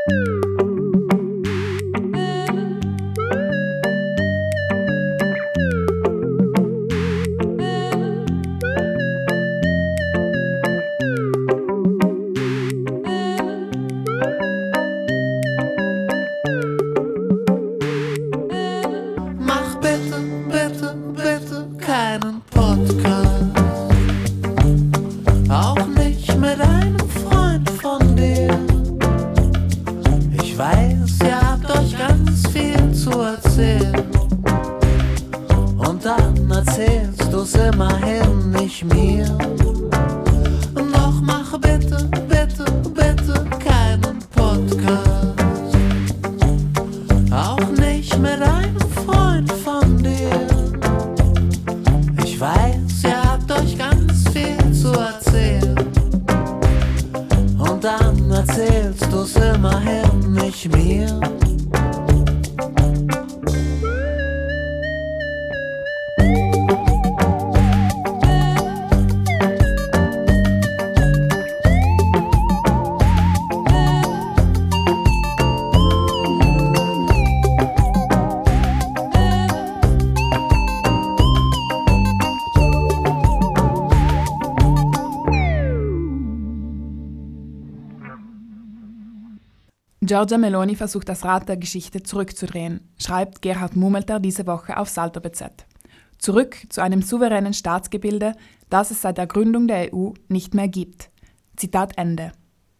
Giorgia Meloni versucht das Rad der Geschichte zurückzudrehen, schreibt Gerhard Mumelter diese Woche auf Salto BZ. Zurück zu einem souveränen Staatsgebilde, das es seit der Gründung der EU nicht mehr gibt. Zitat Ende.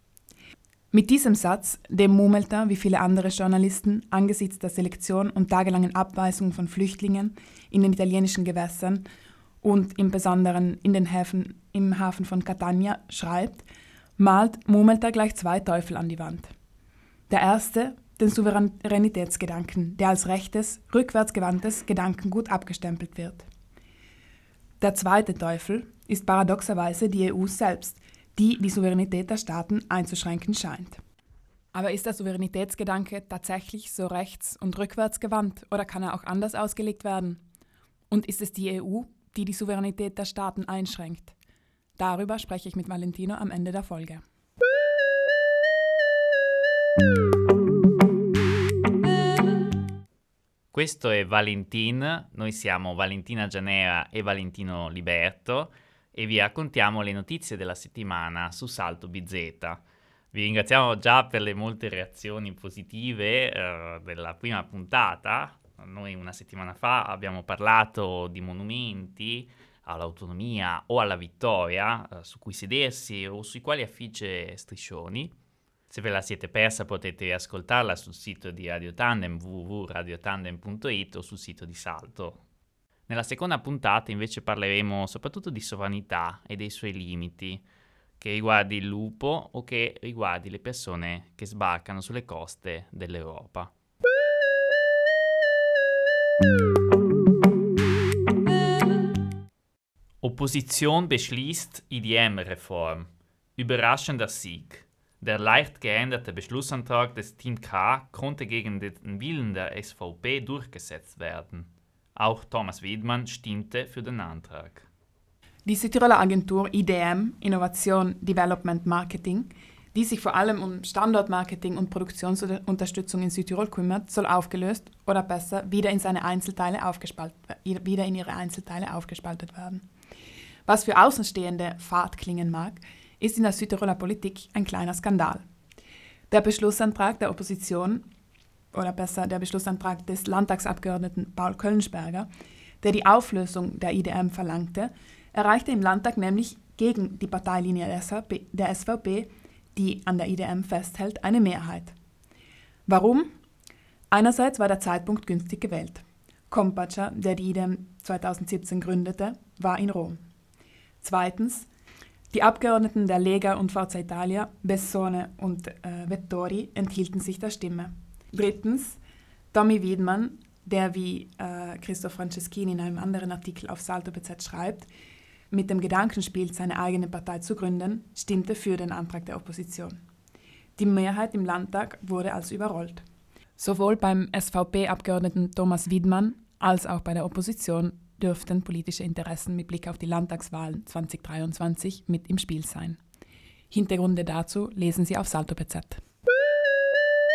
Mit diesem Satz, dem Mumelter wie viele andere Journalisten angesichts der Selektion und tagelangen Abweisung von Flüchtlingen in den italienischen Gewässern und im Besonderen im Hafen von Catania schreibt, malt Mumelter gleich zwei Teufel an die Wand. Der erste, den Souveränitätsgedanken, der als rechtes, rückwärtsgewandtes Gedankengut abgestempelt wird. Der zweite Teufel ist paradoxerweise die EU selbst, die die Souveränität der Staaten einzuschränken scheint. Aber ist der Souveränitätsgedanke tatsächlich so rechts- und rückwärtsgewandt oder kann er auch anders ausgelegt werden? Und ist es die EU, die die Souveränität der Staaten einschränkt? Darüber spreche ich mit Valentino am Ende der Folge. Questo è Valentin, noi siamo Valentina Gianera e Valentino Liberto e vi raccontiamo le notizie della settimana su Salto BZ. Vi ringraziamo già per le molte reazioni positive della prima puntata. Noi una settimana fa abbiamo parlato di monumenti all'autonomia o alla vittoria su cui sedersi o sui quali affigge striscioni. Se ve la siete persa potete riascoltarla sul sito di Radio Tandem www.radiotandem.it o sul sito di Salto. Nella seconda puntata invece parleremo soprattutto di sovranità e dei suoi limiti, che riguardi il lupo o che riguardi le persone che sbarcano sulle coste dell'Europa. Opposition beschließt IDM-Reform. Überraschender Sieg. Der leicht geänderte Beschlussantrag des Team K konnte gegen den Willen der SVP durchgesetzt werden. Auch Thomas Wiedmann stimmte für den Antrag. Die Südtiroler Agentur IDM, Innovation, Development, Marketing, die sich vor allem um Standortmarketing und Produktionsunterstützung in Südtirol kümmert, soll aufgelöst oder besser wieder in ihre Einzelteile aufgespaltet werden. Was für Außenstehende fad klingen mag, ist in der Südtiroler Politik ein kleiner Skandal. Der Beschlussantrag der Opposition, oder besser der Beschlussantrag des Landtagsabgeordneten Paul Kölnsperger, der die Auflösung der IDM verlangte, erreichte im Landtag nämlich gegen die Parteilinie der SVP, die an der IDM festhält, eine Mehrheit. Warum? Einerseits war der Zeitpunkt günstig gewählt. Kompatscher, der die IDM 2017 gründete, war in Rom. Zweitens, die Abgeordneten der Lega und Forza Italia, Bessone und Vettori, enthielten sich der Stimme. Drittens, Tommy Wiedmann, der wie Christoph Franceschini in einem anderen Artikel auf Salto BZ schreibt, mit dem Gedanken spielt, seine eigene Partei zu gründen, stimmte für den Antrag der Opposition. Die Mehrheit im Landtag wurde also überrollt. Sowohl beim SVP-Abgeordneten Thomas Wiedmann als auch bei der Opposition dürften politische Interessen mit Blick auf die Landtagswahlen 2023 mit im Spiel sein. Hintergründe dazu lesen Sie auf Salto BZ.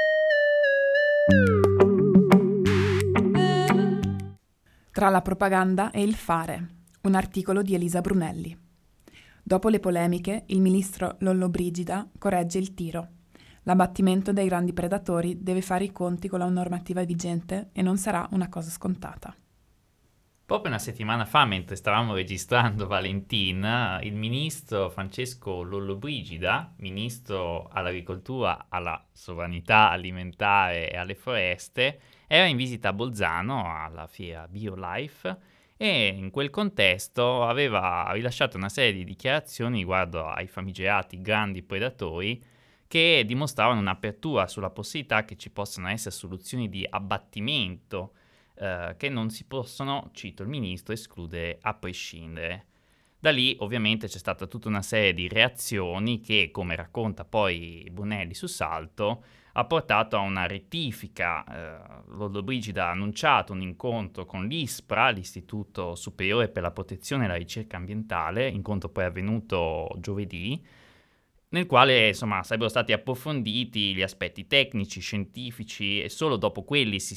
Tra la propaganda e il fare, un articolo di Elisa Brunelli. Dopo le polemiche, il ministro Lollobrigida corregge il tiro. L'abbattimento dei grandi predatori deve fare i conti con la normativa vigente e non sarà una cosa scontata. Proprio una settimana fa, mentre stavamo registrando Valentin, il ministro Francesco Lollobrigida, ministro all'agricoltura, alla sovranità alimentare e alle foreste, era in visita a Bolzano alla fiera BioLife e in quel contesto aveva rilasciato una serie di dichiarazioni riguardo ai famigerati grandi predatori che dimostravano un'apertura sulla possibilità che ci possano essere soluzioni di abbattimento che non si possono, cito il ministro, escludere a prescindere. Da lì ovviamente c'è stata tutta una serie di reazioni che, come racconta poi Brunelli su Salto, ha portato a una rettifica. Lollobrigida ha annunciato un incontro con l'ISPRA, l'Istituto Superiore per la Protezione e la Ricerca Ambientale, incontro poi avvenuto giovedì, nel quale insomma sarebbero stati approfonditi gli aspetti tecnici, scientifici e solo dopo quelli si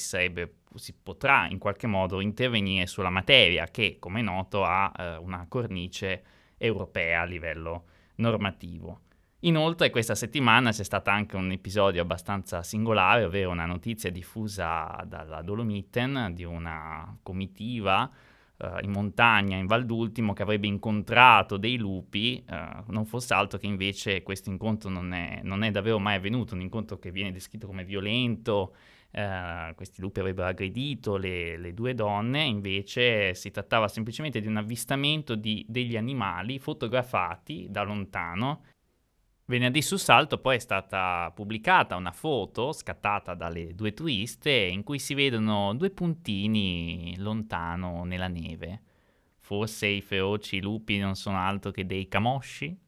potrà in qualche modo intervenire sulla materia che, come è noto, ha una cornice europea a livello normativo. Inoltre questa settimana c'è stato anche un episodio abbastanza singolare, ovvero una notizia diffusa dalla Dolomiten di una comitiva in montagna, in Val d'Ultimo, che avrebbe incontrato dei lupi, non fosse altro che invece questo incontro non è davvero mai avvenuto, un incontro che viene descritto come violento. Questi lupi avrebbero aggredito le due donne, invece si trattava semplicemente di un avvistamento degli animali fotografati da lontano. Venerdì su Salto poi è stata pubblicata una foto scattata dalle due turiste in cui si vedono due puntini lontano nella neve. Forse i feroci lupi non sono altro che dei camosci?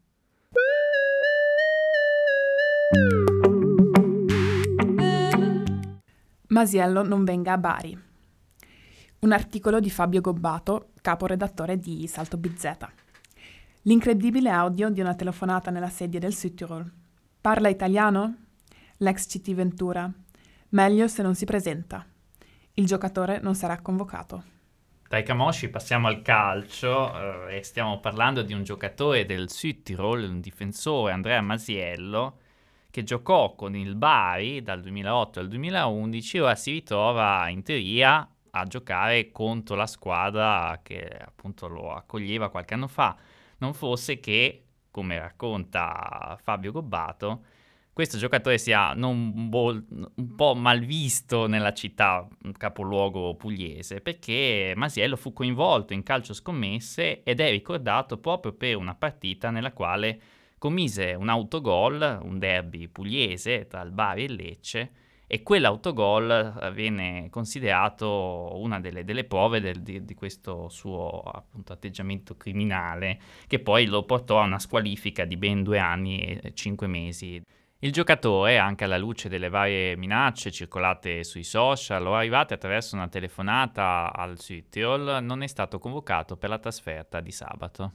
Masiello non venga a Bari. Un articolo di Fabio Gobbato, caporedattore di Salto Bizzeta. L'incredibile audio di una telefonata nella sedia del Südtirol. Parla italiano? L'ex CT Ventura. Meglio se non si presenta. Il giocatore non sarà convocato. Dai camosci passiamo al calcio e stiamo parlando di un giocatore del Südtirol, un difensore, Andrea Masiello, che giocò con il Bari dal 2008 al 2011 e ora si ritrova in teoria a giocare contro la squadra che appunto lo accoglieva qualche anno fa. Non fosse che, come racconta Fabio Gobbato, questo giocatore sia un po' malvisto nella città capoluogo pugliese, perché Masiello fu coinvolto in calcio scommesse ed è ricordato proprio per una partita nella quale commise un autogol, un derby pugliese tra il Bari e il Lecce, e quell'autogol viene considerato una delle prove di questo suo appunto atteggiamento criminale, che poi lo portò a una squalifica di ben 2 anni e 5 mesi. Il giocatore, anche alla luce delle varie minacce circolate sui social o arrivate attraverso una telefonata al Südtirol, non è stato convocato per la trasferta di sabato.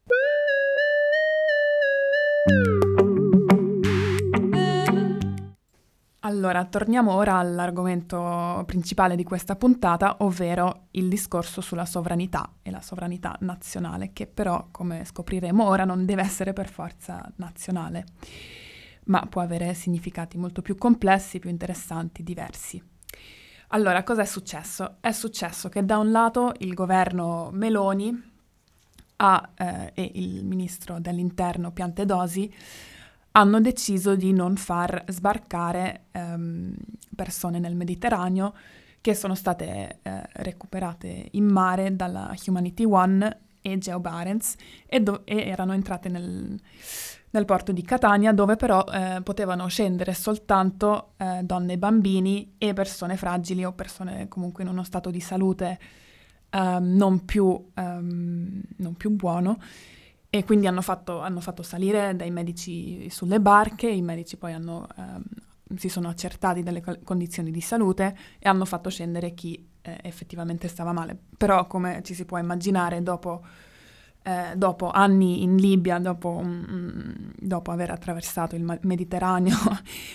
Allora, torniamo ora all'argomento principale di questa puntata, ovvero il discorso sulla sovranità e la sovranità nazionale, che però, come scopriremo ora, non deve essere per forza nazionale, ma può avere significati molto più complessi, più interessanti, diversi. Allora, cosa è successo? È successo che da un lato il governo Meloni e il ministro dell'Interno Piantedosi hanno deciso di non far sbarcare persone nel Mediterraneo che sono state recuperate in mare dalla Humanity One e Geo Barents e erano entrate nel porto di Catania, dove però potevano scendere soltanto donne e bambini e persone fragili o persone comunque in uno stato di salute non più buono. E quindi hanno fatto salire dei medici sulle barche, i medici poi si sono accertati delle condizioni di salute e hanno fatto scendere chi effettivamente stava male. Però, come ci si può immaginare, dopo anni in Libia, dopo aver attraversato il Mediterraneo,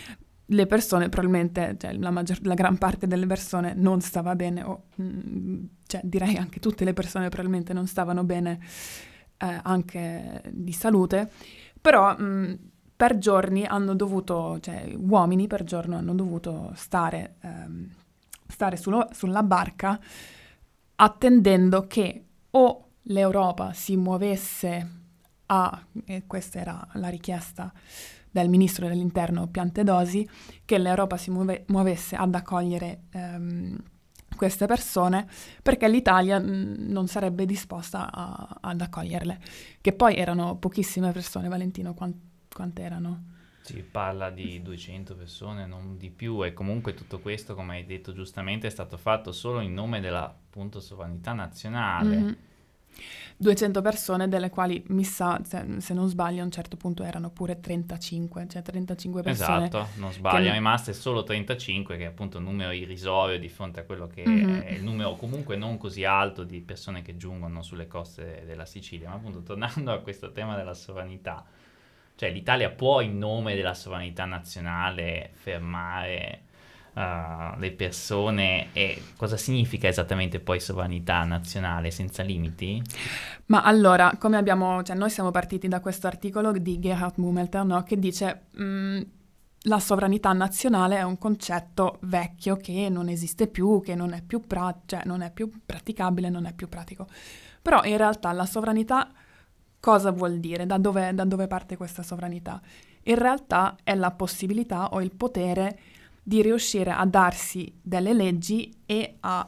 le persone probabilmente, cioè la gran parte delle persone non stava bene, o cioè direi anche tutte le persone probabilmente non stavano bene anche di salute, però per giorni hanno dovuto, cioè uomini per giorno hanno dovuto stare sulla barca attendendo che o l'Europa si muovesse e questa era la richiesta del ministro dell'interno Piantedosi, che l'Europa si muovesse ad accogliere queste persone, perché l'Italia non sarebbe disposta ad accoglierle, che poi erano pochissime persone. Valentino, quante erano? Si parla di 200 persone, non di più, e comunque tutto questo, come hai detto giustamente, è stato fatto solo in nome della, appunto, sovranità nazionale. Mm-hmm. 200 persone, delle quali mi sa, se non sbaglio, a un certo punto erano pure 35, cioè 35 persone. Esatto, non sbaglio, rimaste solo 35, che è appunto un numero irrisorio di fronte a quello che è il numero comunque non così alto di persone che giungono sulle coste della Sicilia. Ma appunto, tornando a questo tema della sovranità, cioè l'Italia può in nome della sovranità nazionale fermare le persone, e cosa significa esattamente poi sovranità nazionale senza limiti? Ma allora, come cioè noi siamo partiti da questo articolo di Gerhard Mummelter, no, che dice la sovranità nazionale è un concetto vecchio che non esiste più, che non è più, cioè non è più praticabile, non è più pratico. Però in realtà la sovranità cosa vuol dire? Da dove parte questa sovranità? In realtà è la possibilità o il potere di riuscire a darsi delle leggi e a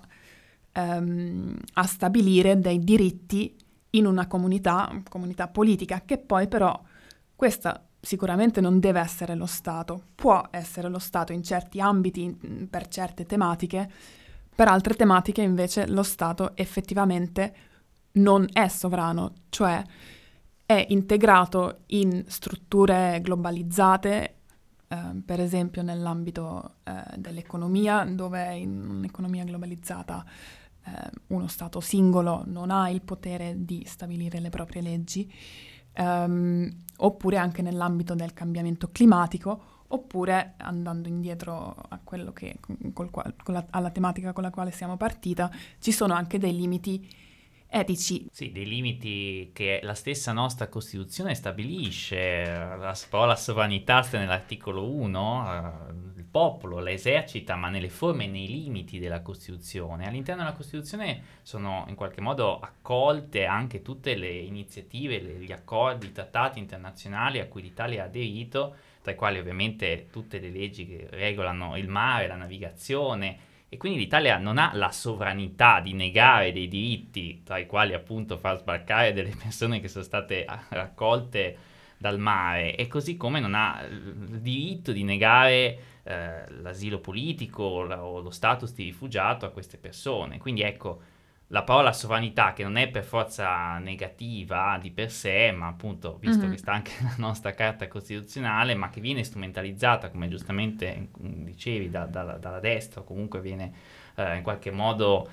stabilire dei diritti in una comunità politica, che poi però questa sicuramente non deve essere lo Stato, può essere lo Stato in certi ambiti, per certe tematiche, per altre tematiche invece lo Stato effettivamente non è sovrano, cioè è integrato in strutture globalizzate, per esempio nell'ambito dell'economia, dove in un'economia globalizzata uno Stato singolo non ha il potere di stabilire le proprie leggi, oppure anche nell'ambito del cambiamento climatico, oppure andando indietro a quello che, alla tematica con la quale siamo partita, ci sono anche dei limiti etici. Sì, dei limiti che la stessa nostra Costituzione stabilisce. La parola sovranità sta nell'articolo 1, il popolo la esercita, ma nelle forme e nei limiti della Costituzione. All'interno della Costituzione sono in qualche modo accolte anche tutte le iniziative, gli accordi, i trattati internazionali a cui l'Italia ha aderito, tra i quali ovviamente tutte le leggi che regolano il mare, la navigazione. E quindi l'Italia non ha la sovranità di negare dei diritti, tra i quali appunto far sbarcare delle persone che sono state raccolte dal mare, e così come non ha il diritto di negare l'asilo politico o lo status di rifugiato a queste persone. Quindi ecco, la parola sovranità, che non è per forza negativa di per sé, ma appunto, visto che sta anche nella nostra Carta Costituzionale, ma che viene strumentalizzata, come giustamente dicevi, dalla destra, o comunque viene in qualche modo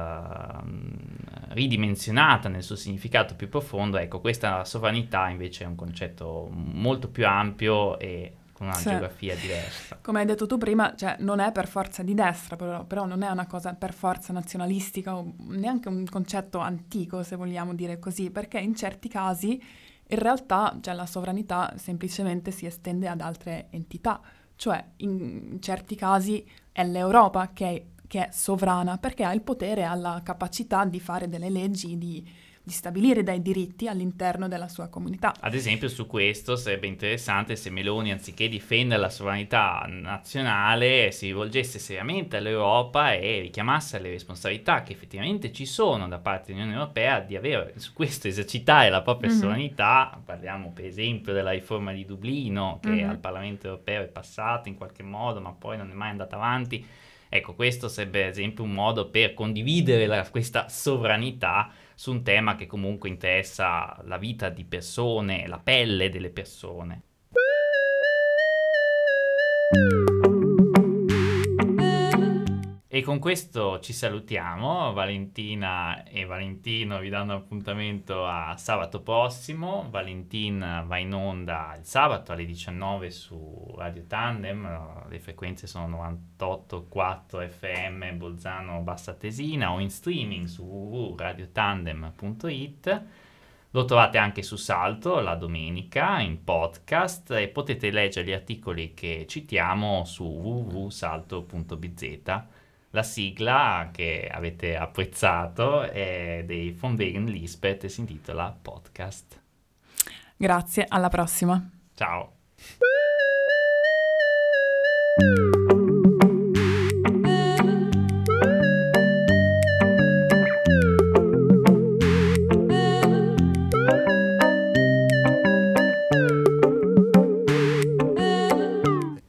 ridimensionata nel suo significato più profondo, ecco, questa sovranità invece è un concetto molto più ampio e con una geografia diversa. Come hai detto tu prima, cioè non è per forza di destra, però non è una cosa per forza nazionalistica o neanche un concetto antico, se vogliamo dire così, perché in certi casi in realtà, cioè, la sovranità semplicemente si estende ad altre entità, cioè in certi casi è l'Europa che è sovrana perché ha il potere, ha la capacità di fare delle leggi, di stabilire dei diritti all'interno della sua comunità. Ad esempio, su questo sarebbe interessante se Meloni, anziché difendere la sovranità nazionale, si rivolgesse seriamente all'Europa e richiamasse le responsabilità che effettivamente ci sono da parte dell'Unione Europea di avere su questo, esercitare la propria sovranità. Parliamo per esempio della riforma di Dublino, che al Parlamento Europeo è passata in qualche modo, ma poi non è mai andata avanti. Ecco, questo sarebbe ad esempio un modo per condividere questa sovranità su un tema che comunque interessa la vita di persone, la pelle delle persone. E con questo ci salutiamo. Valentina e Valentino vi danno appuntamento a sabato prossimo. Valentin va in onda il sabato alle 19 su Radio Tandem, le frequenze sono 98.4 FM Bolzano Bassa Tesina, o in streaming su www.radiotandem.it. Lo trovate anche su Salto la domenica in podcast e potete leggere gli articoli che citiamo su www.salto.bz. La sigla che avete apprezzato è dei Von Wegen Lisbeth e si intitola Podcast. Grazie, alla prossima. Ciao.